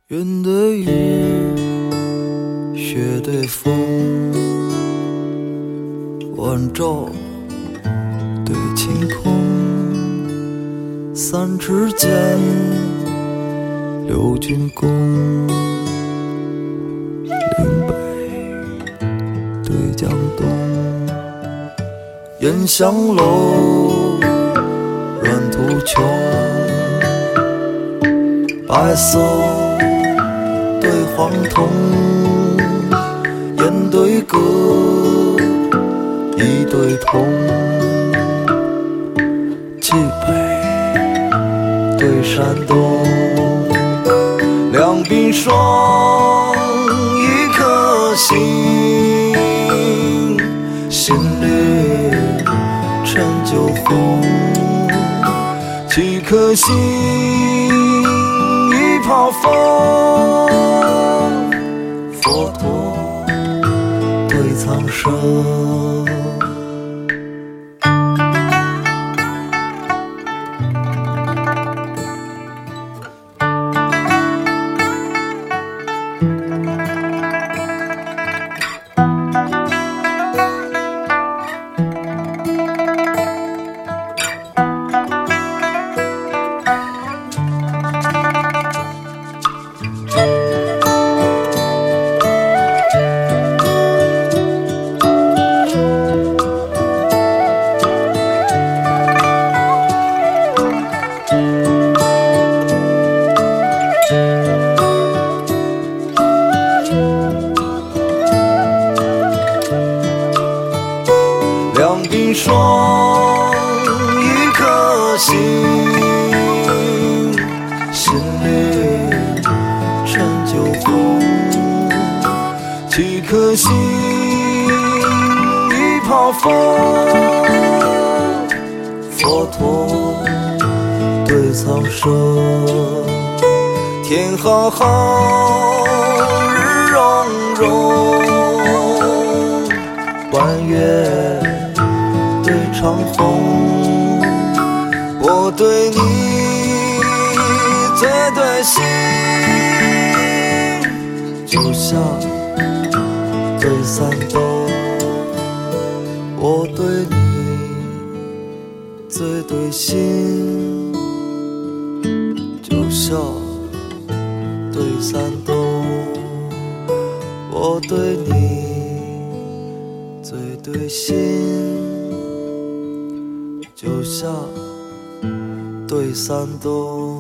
云对雨，雪对风，晚照对晴空，三尺剑，六钧弓，岭北对江东，烟香楼，软土穷，白色对黄铜，烟对歌，一对铜，冀北对山东，两鬓霜，一颗心，心绿陈酒红，几颗心，一泡风，佛陀对苍生。两鬓霜，一颗心，心绿陈酒红，几颗心，一泡风，佛陀对苍生。天浩浩，日融融，弯月对长虹，我对你最对心，就像对三斗，我对你最对心，就像对三斗，我对你最对心，就像对三斗。